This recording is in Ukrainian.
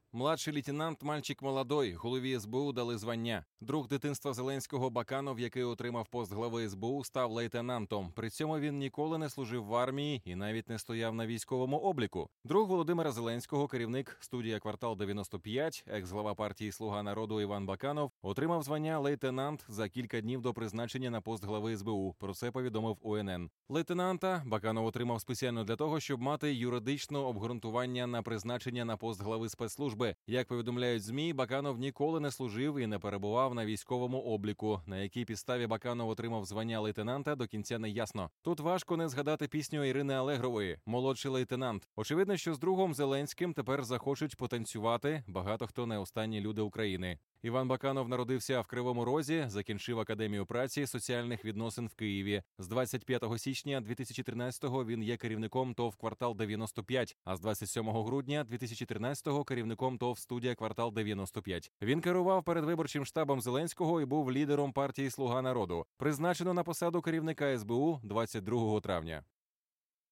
Младший лейтенант «Мальчик молодой», голові СБУ дали звання. Друг дитинства Зеленського Баканов, який отримав пост глави СБУ, став лейтенантом. При цьому він ніколи не служив в армії і навіть не стояв на військовому обліку. Друг Володимира Зеленського, керівник студія «Квартал 95», екс-глава партії «Слуга народу» Іван Баканов, отримав звання лейтенант за кілька днів до призначення на пост глави СБУ. Про це повідомив УНН. Лейтенанта Баканов отримав спеціально для того, щоб мати юридичне обґрунтування на призначення на пост глави спецслужби. Як повідомляють ЗМІ, Баканов ніколи не служив і не перебував на військовому обліку. На якій підставі Баканов отримав звання лейтенанта, до кінця не ясно. Тут важко не згадати пісню Ірини Алегрової «Молодший лейтенант». Очевидно, що з другом Зеленським тепер захочуть потанцювати багато хто не останні люди України. Іван Баканов народився в Кривому Розі, закінчив Академію праці соціальних відносин в Києві. З 25 січня 2013-го він є керівником ТОВ «Квартал 95», а з 27 грудня 2013-го керівником ТОВ «Студія Квартал 95». Він керував передвиборчим штабом Зеленського і був лідером партії «Слуга народу». Призначено на посаду керівника СБУ 22 травня.